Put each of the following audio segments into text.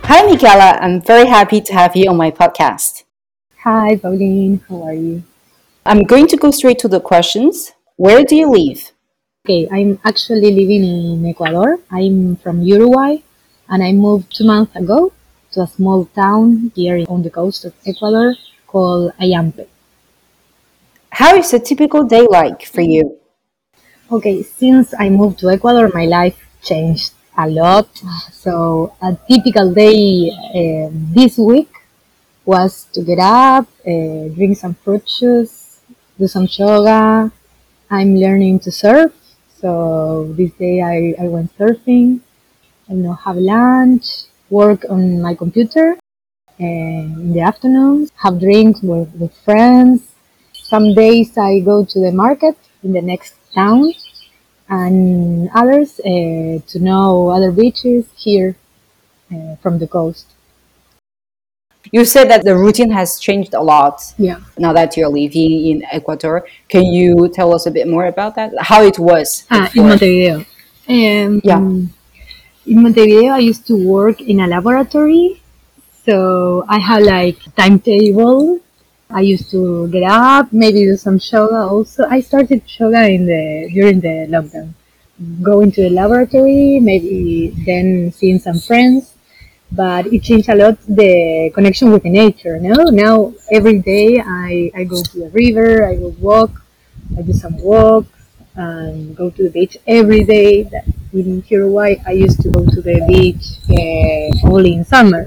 Hi, Michaela. I'm very happy to have you on my podcast. Hi, Pauline. How are you? I'm going to go straight to the questions. Where do you live? Okay, I'm actually living in Ecuador. I'm from Uruguay and I moved 2 months ago to a small town here on the coast of Ecuador called Ayampe. How is a typical day like for you? Okay, since I moved to Ecuador, my life changed a lot. So, a typical day this week was to get up, drink some fruit juice, do some yoga. I'm learning to surf. So this day I went surfing, have lunch, work on my computer in the afternoons, have drinks with friends. Some days I go to the market in the next town and others to know other beaches here from the coast. You said that the routine has changed a lot Yeah. now that you're living in Ecuador. Can you tell us a bit more about that? How it was In before? Montevideo. Yeah. In Montevideo, I used to work in a laboratory. So I have like timetable. I used to get up, maybe do some yoga also. I started yoga in the during the lockdown. Going to the laboratory, maybe then seeing some friends. But it changed a lot the connection with the nature. No, now every day I go to the river, I go walk, I do some walk, and go to the beach every day. In Uruguay, I used to go to the beach only in summer.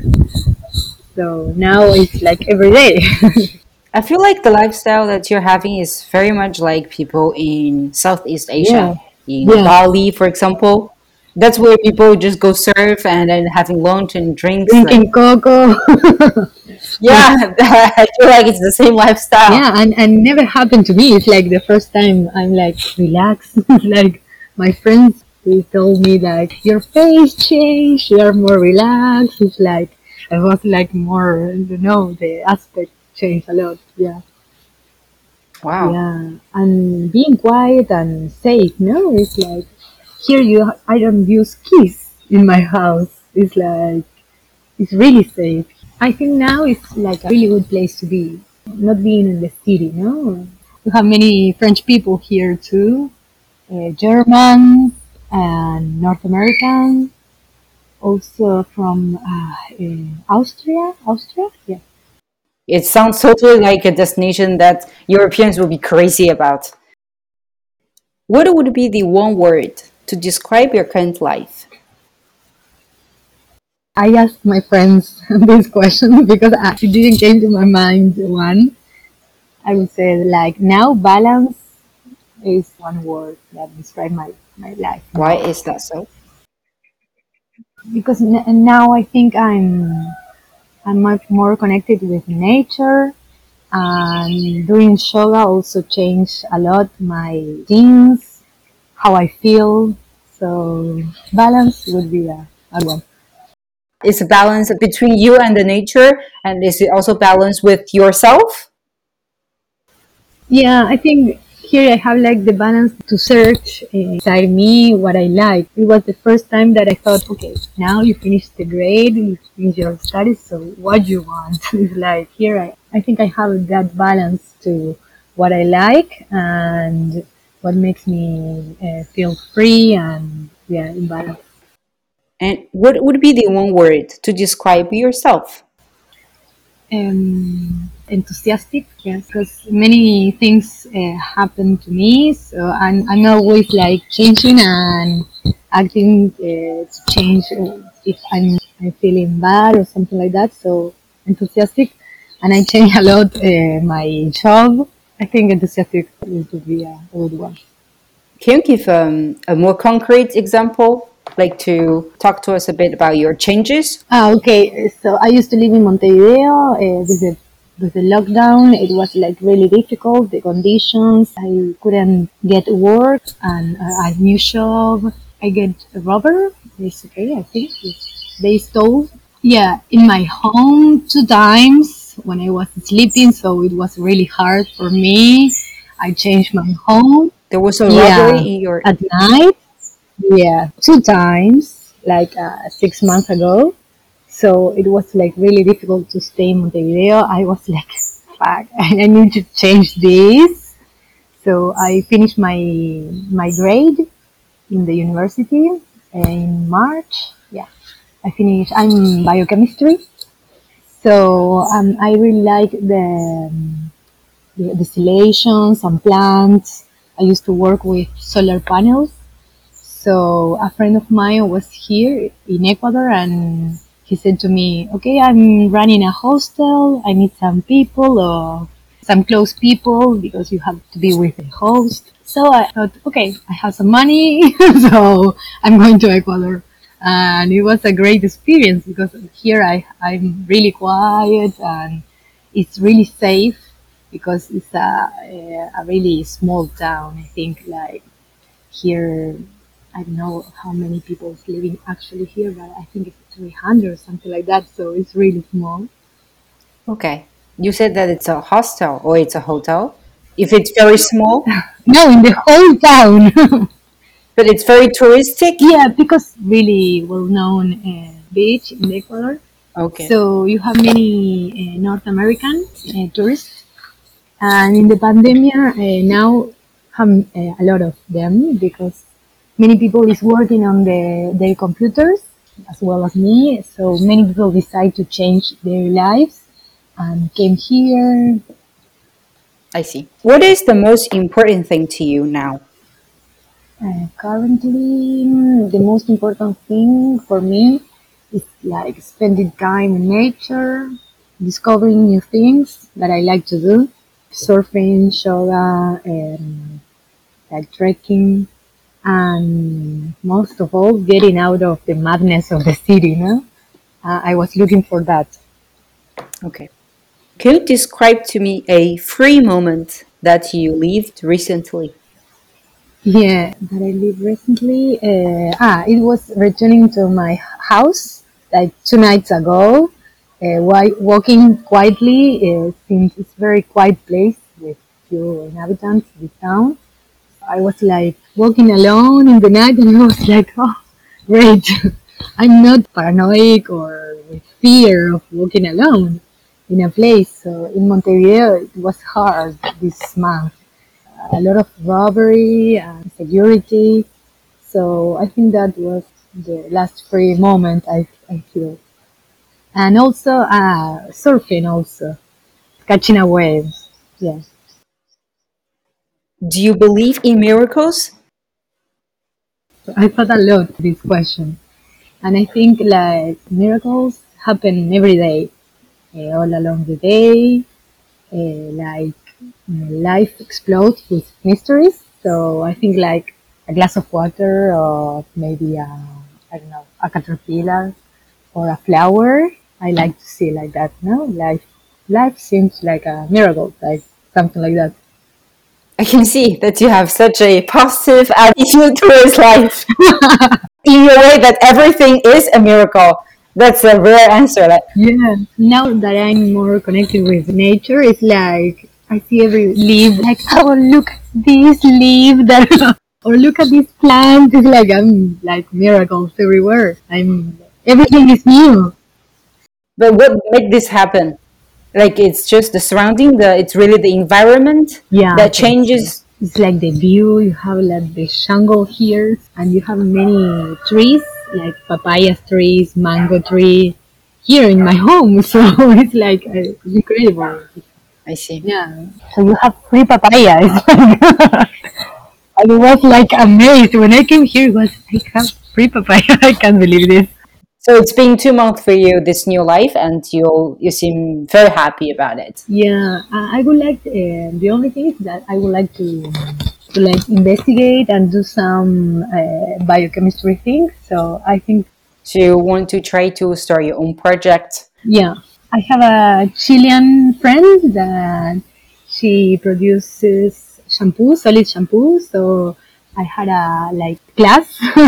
So now it's like every day. I feel like the lifestyle that you're having is very much like people in Southeast Asia, Yeah, in yeah. Bali, for example. That's where people just go surf and then having lunch and drinks. Like, Drinking cocoa. yeah, I feel like it's the same lifestyle. Yeah, and never happened to me. It's like the first time I'm like relaxed. Like my friends, they told me like your face changed. You're more relaxed. It's like I was like more, the aspect changed a lot. Yeah, Wow. yeah, and being quiet and safe. No, it's like here I don't use keys in my house. It's like it's really safe. I think now it's like a really good place to be, not being in the city, no? You have many French people here too, Germans and North Americans, also from Austria, yeah. It sounds totally like a destination that Europeans will be crazy about. What would be the one word to describe your current life? I asked my friends this question because it didn't came to my mind one. I would say like now balance is one word that describes my life Why now. is that so? Because now I think I'm much more connected with nature, and doing yoga also changed a lot my things, how I feel. So balance would be a one. Is a balance between you and the nature, and is it also balance with yourself? Yeah, I think here I have like the balance to search inside me what I like. It was the first time that I thought, okay, now you finished the grade, you finished your studies, so what you want? It's like here I think I have that balance to what I like and what makes me feel free and yeah, in balance. And what would be the one word to describe yourself? Enthusiastic, yes, because many things happen to me, so I'm always like changing and acting to change if I'm feeling bad or something like that. So enthusiastic, and I change a lot my job. I think enthusiastic would be a good one. Can you give a more concrete example, like to talk to us a bit about your changes? Okay. So I used to live in Montevideo with the lockdown. It was like really difficult. The conditions. I couldn't get work and a new job. I get a robber. It's okay. I think they stole. Yeah, in my home 2 times when I was sleeping. So it was really hard for me. I changed my home. There was a robbery Yeah, in your. at night. Yeah, 2 times, like 6 months ago. So it was like really difficult to stay in Montevideo. I was like, fuck, I need to change this. So I finished my grade in the university in March. Yeah, I finished. I'm biochemistry. So I really like the distillations and plants. I used to work with solar panels. So a friend of mine was here in Ecuador and he said to me, okay, I'm running a hostel. I need some people or some close people because you have to be with the host. So I thought, okay, I have some money, so I'm going to Ecuador. And it was a great experience because here I'm really quiet and it's really safe because it's a really small town. I think like here, I don't know how many people is living actually here, but I think it's 300 or something like that. So it's really small. Okay. You said that it's a hostel or it's a hotel. If it's very small, No, in the whole town. but it's very touristic. Yeah, because really well-known beach in Ecuador. Okay. So you have many North American tourists, and in the pandemic now have a lot of them because many people is working on their computers as well as me. So many people decide to change their lives and came here. I see. What is the most important thing to you now? Currently, the most important thing for me is like spending time in nature, discovering new things that I like to do, surfing, yoga, and like trekking, and most of all, getting out of the madness of the city. No, I was looking for that. Okay. Can you describe to me a free moment that you lived recently? Yeah, that I lived recently. It was returning to my house like 2 nights ago. While walking quietly, since it's a very quiet place with few inhabitants, the town. I was like walking alone in the night, and I was like, oh, great! I'm not paranoid or with fear of walking alone in a place. So in Montevideo, it was hard this month, a lot of robbery and security. So I think that was the last free moment I feel. And also surfing, also catching a wave. Yeah, Do you believe in miracles? so I thought a lot this question, and I think like miracles happen every day, all along the day. Like life explodes with mysteries. So I think like a glass of water or maybe I don't know, a caterpillar or a flower. I like to see like that. No, life seems like a miracle, like something like that. I can see that you have such a positive attitude towards life. In your way, that everything is a miracle. That's a rare answer. Like, Yeah. Now that I'm more connected with nature, it's like I see every leaf like, oh, look at this leaf that, or look at this plant. It's like I'm like miracles everywhere. Everything is new. but what made this happen? Like it's just the surrounding. It's really the environment Yeah, I that think so. changes. It's like the view. You have like the jungle here, and you have many trees, like papaya trees, mango tree, here in my home. So it's like incredible. I see. Yeah. So you have free papaya. It's like, I was like amazed when I came here. It was I have free papaya. I can't believe this. So it's been 2 months for you, this new life, and you seem very happy about it. Yeah, I would like. The only thing is that I would like to like investigate and do some biochemistry things. So I think So you want to try to start your own project. yeah, I have a Chilean friend that she produces shampoo, solid shampoo. So I had a like class.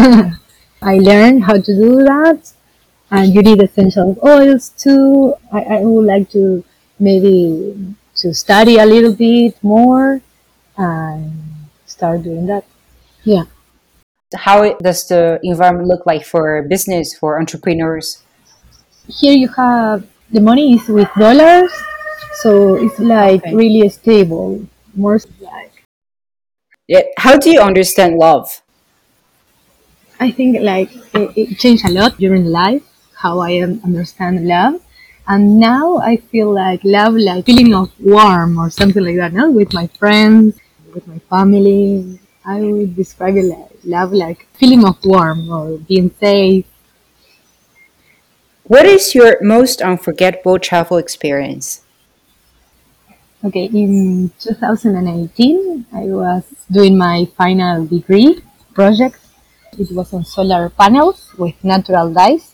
I learned how to do that, and you need essential oils too. I would like to maybe to study a little bit more and start doing that. Yeah. How does the environment look like for business, for entrepreneurs? Here you have the money is with dollars, so it's like Okay. really stable. More like Yeah. How do you understand love? I think like it changed a lot during life how I understand love, and now I feel like love like feeling of warm or something like that. Now with my friends, with my family, I would describe it like love like feeling of warm or being safe. What is your most unforgettable travel experience? Okay, in 2018, I was doing my final degree project. It was on solar panels with natural dyes.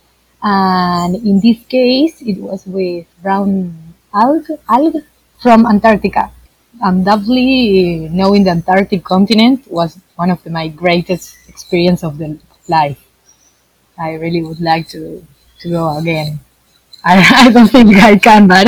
And in this case, it was with brown algae from Antarctica. Undoubtedly, knowing the Antarctic continent was one of my greatest experience of the life. I really would like to go again. I don't think I can, but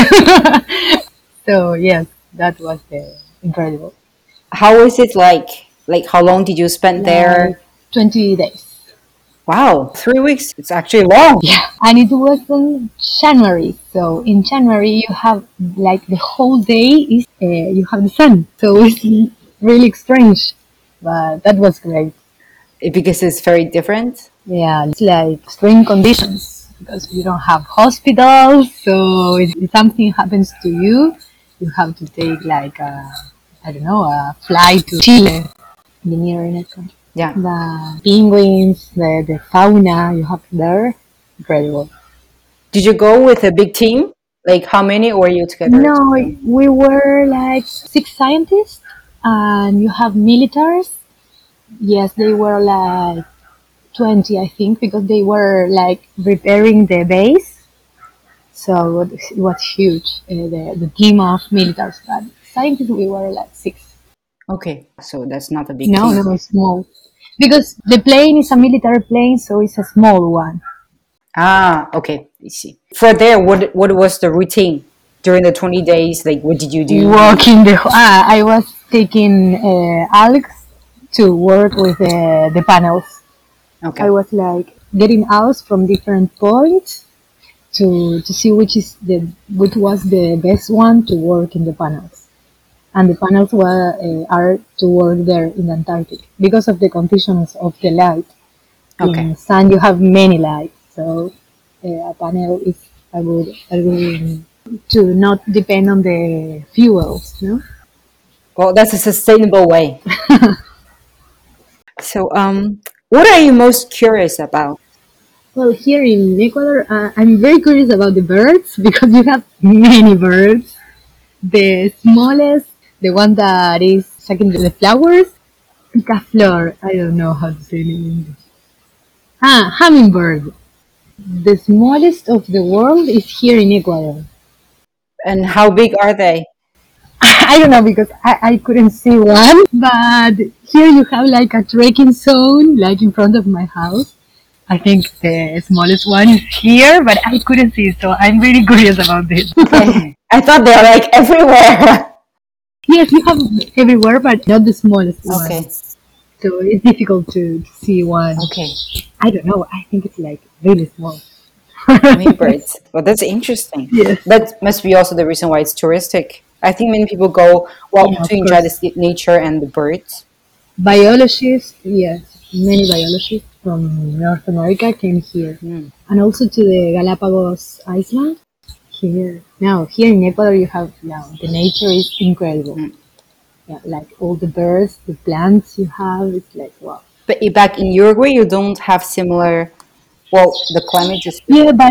so yes, that was incredible. How was it like? Like, how long did you spend Like there? 20 days. Wow, 3 weeks. It's actually long. Yeah, and it was in January. So in January you have like the whole day is you have the sun. So it's really strange, but that was great. Because it's very different. Yeah, it's like extreme conditions because you don't have hospitals. So if something happens to you, you have to take like I don't know a flight to Chile, the nearest country. Yeah. The penguins, the fauna you have there, incredible. Did you go with a big team? Like, how many were you together? No, we were like six scientists, and you have militaries. Yes, they were like 20, I think, because they were like repairing the base. So it was huge, the team of militaries. But scientists, we were like six. Okay, so that's not a big No, team. no, small. Because the plane is a military plane, so it's a small one. Ah, okay, I see. For there, what was the routine during the 20 days? Like, what did you do? Walking I was taking Alex to work with the panels. I Okay, was like getting out from different points to see which was the best one to work in the panels. And the panels are to work there in the Antarctic because of the conditions of the light. okay. In sun, you have many lights, so a panel is a good to not depend on the fuels. No. Well, that's a sustainable way. So, what are you most curious about? Well, here in Ecuador, I'm very curious about the birds because you have many birds. The smallest, the one that is sucking the flowers, picaflor. I don't know how to say it in English. Ah, hummingbird. The smallest of the world is here in Ecuador. And how big are they? I don't know because I couldn't see one, but here you have like a trekking zone, like in front of my house. I think the smallest one is here, but I couldn't see, so I'm really curious about this. Okay, I thought they're like everywhere. Yes, you have everywhere, but not the smallest one. Okay, So it's difficult to see one. okay. I don't know. I think it's like really small. Hummingbirds. Well, that's interesting. Yes. That must be also the reason why it's touristic. I think many people go, well, Yeah, to of enjoy the course. nature and the birds. Biologists, yes, many biologists from North America came here, Mm. and also to the Galapagos Island. Here now, here in Ecuador, you have now the nature is incredible. Mm. Yeah, like all the birds, the plants you have, it's like wow. But back in Uruguay, you don't have similar. Well, the climate is Yeah, but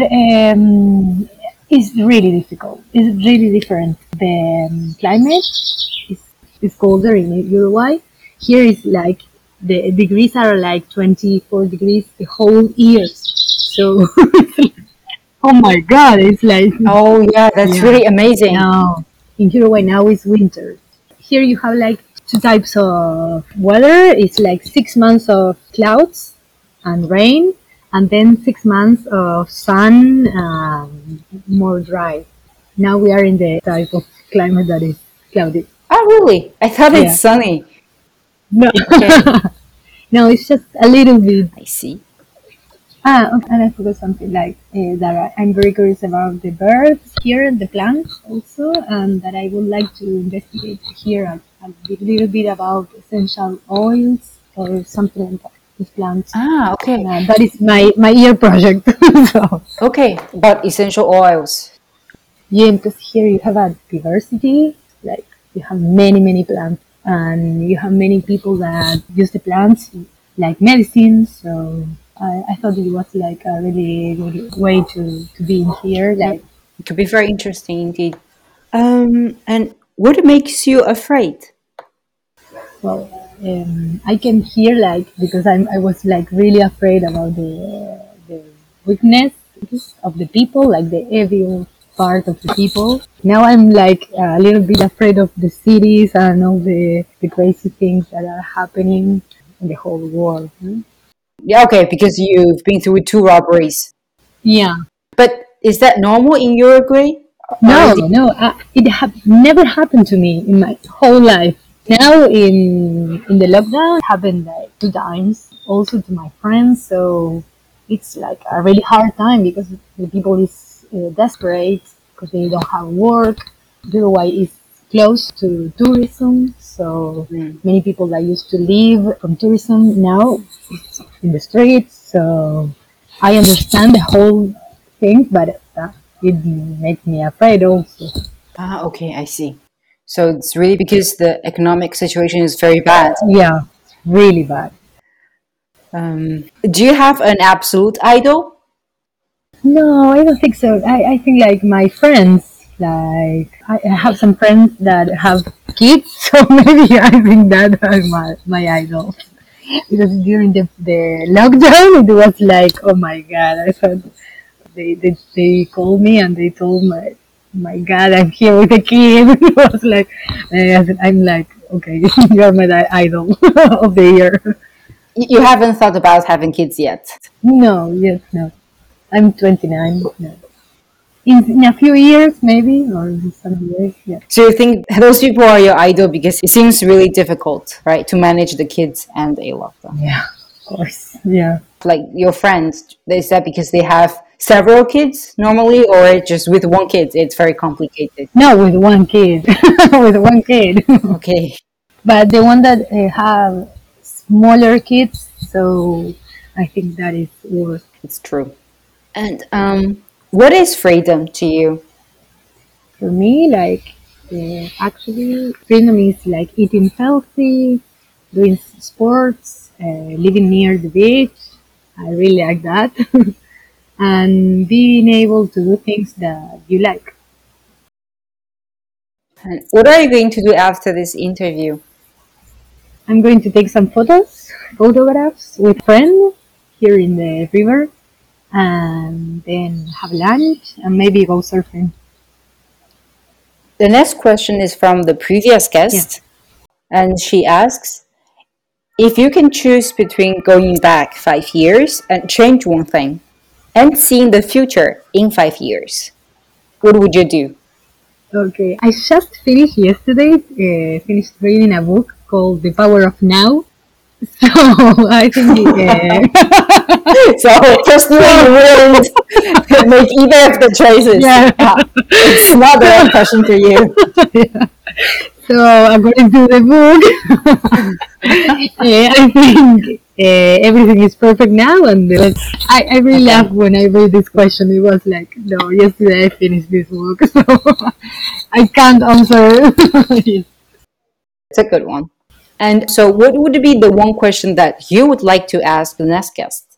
it's really difficult. It's really different. The climate is colder in Uruguay. Here is like the degrees are like 24 degrees the whole year. So, oh my God, it's like, Oh yeah, that's yeah, really amazing. now in Uruguay now is winter. Here you have like two types of weather. It's like 6 months of clouds and rain, and then 6 months of sun, more dry. Now we are in the type of climate that is cloudy. Oh really? I thought it's Yeah. sunny. No. Okay, No, it's just a little bit. I see. Okay, and I forgot something like that I'm very curious about the birds here, the plants also, and that I would like to investigate here a little bit about essential oils or something like that with plants. Ah, okay. That is my year project. So Okay, but essential oils. yeah, because here you have a diversity, like you have many plants, and you have many people that use the plants like medicine. So I thought it was like a really good way to be in here. Mm, Like, it could be very interesting indeed. And what makes you afraid? well, I can hear like because I was like really afraid about the weakness of the people, like the evil part of the people. Now I'm like a little bit afraid of the cities and all the crazy things that are happening in the whole world. Yeah, okay, because you've been through two robberies. Yeah. But is that normal in Uruguay No, already? no, it never happened to me in my whole life. Now in the lockdown, it happened like 2 times, also to my friends. So it's like a really hard time because the people is desperate because they don't have work. Uruguay is close to tourism, so Mm. many people that used to live from tourism now it's in the streets. So I understand the whole thing, but it makes me afraid also. Ah, okay, I see. So it's really because the economic situation is very bad. Yeah, it's really bad. Do you have an absolute idol? No, I don't think so. I think like my friends, like I have some friends that have kids, so maybe I think that are my idol. Because during the lockdown, it was like, oh my god, I thought they called me and they told my god, I'm here with a kid. It was like, I'm like, okay, you're my idol of the year. You haven't thought about having kids yet. No, yes, no. I'm 29. No. In a few years, maybe, or in some years, yeah. So you think those people are your idol because it seems really difficult, right, to manage the kids and a lockdown. Yeah, of course. Yeah. Like your friends, is that because they have several kids normally, or just with one kid, it's very complicated? No, with one kid. With one kid. Okay, But the one that have smaller kids, so I think that is worse. it's true. And what is freedom to you? For me, like, actually, freedom is like eating healthy, doing sports, living near the beach. I really like that. And being able to do things that you like. And what are you going to do after this interview? I'm going to take some photographs with a friend here in the river, and then have lunch and maybe go surfing. The next question is from the previous Yeah. guest, and she asks, if you can choose between going back 5 years and change one thing, and seeing the future in 5 years, what would you do? Okay. I just finished yesterday. Finished reading a book called The Power of Now. So I think So, personally, you wouldn't make either of the choices. yeah. It's not the right question for you. So according to the book, I think everything is perfect now, and I really Okay, laughed when I read this question. It was like, no, yesterday I finished this book, so I can't answer. Yes. it's a good one. And so, what would be the one question that you would like to ask the next guest?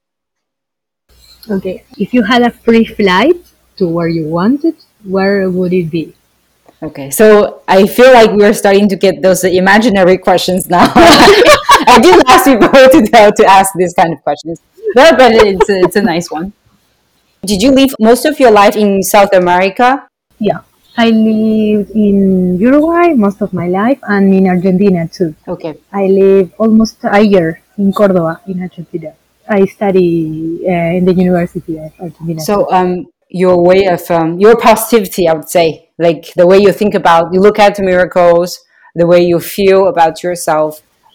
Okay, if you had a free flight to where you wanted, where would it be? Okay, so I feel like we're starting to get those imaginary questions now. I didn't ask people to ask these kind of questions, but it's a nice one. Did you live most of your life in South America? Yeah, I lived in Uruguay most of my life and in Argentina too. Okay, I live almost a year in Cordoba, in Argentina. I study in the University of Argentina too. so your way of your positivity, I would say, like the way you think about, you look at miracles, the way you feel about yourself.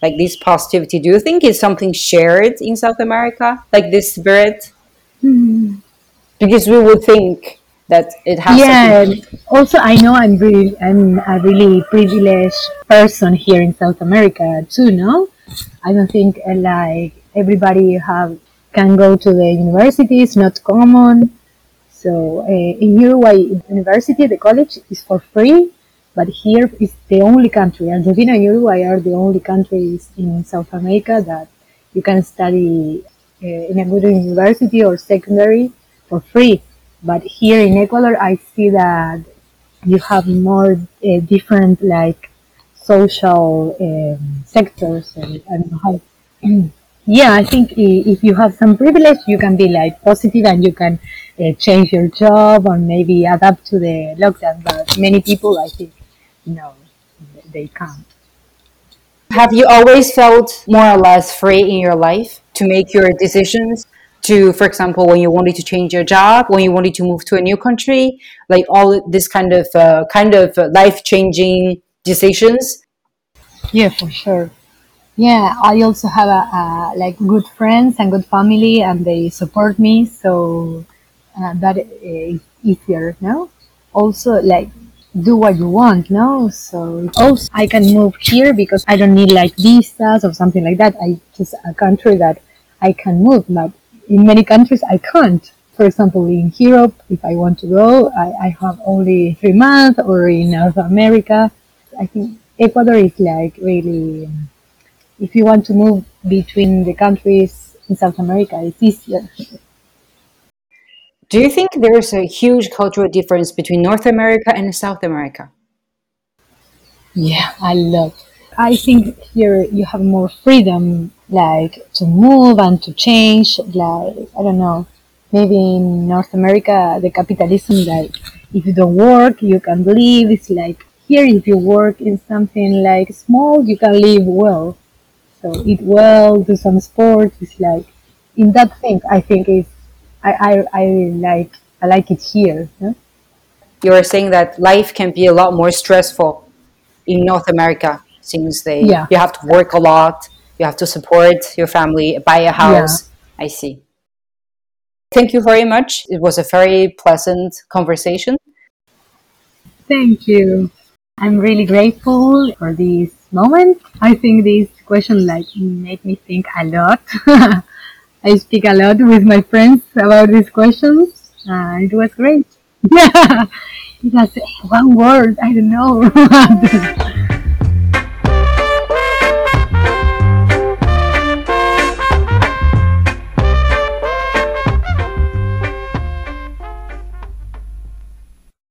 like this positivity, do you think it's something shared in South America, like this spirit? Hmm. Because we would think that it has something. Yeah. Also, I know I'm a really privileged person here in South America too. No, I don't think like everybody have can go to the university. It's not common. So in Uruguay, university, the college is for free, but here is the only country. Argentina and Uruguay are the only countries in South America that you can study in a good university or secondary for free. But here in Ecuador, I see that you have more different like social sectors and how. Yeah, I think if you have some privilege, you can be like positive and you can change your job or maybe adapt to the lockdown. But many people, I think, no, they can't. Have you always felt more or less free in your life to make your decisions? To, for example, when you wanted to change your job, when you wanted to move to a new country, like all this kind of life changing decisions. Yeah, for sure. Yeah, I also have like good friends and good family, and they support me, so that is easier. No, also like do what you want. No, so also I can move here because I don't need like visas or something like that. I just a country that I can move, but in many countries I can't. For example, in Europe, if I want to go, I have only 3 months, or in North America. I think Ecuador is like really if you want to move between the countries in South America, it's easier. Do you think there's a huge cultural difference between North America and South America? Yeah, I love. I think here you have more freedom, like to move and to change. Like I don't know, maybe in North America, the capitalism, like if you don't work, you can leave. It's like here, if you work in something like small, you can live well. So eat well, do some sports. It's like in that thing, I think is I like I like it here. No? You were saying that life can be a lot more stressful in North America since they Yeah, you have to work a lot, you have to support your family, buy a yeah. house. I see. Thank you very much. It was a very pleasant conversation. Thank you. I'm really grateful for this moment. I think this question like made me think a lot. I speak a lot with my friends about these questions. It was great. Yeah, it has one word. I don't know.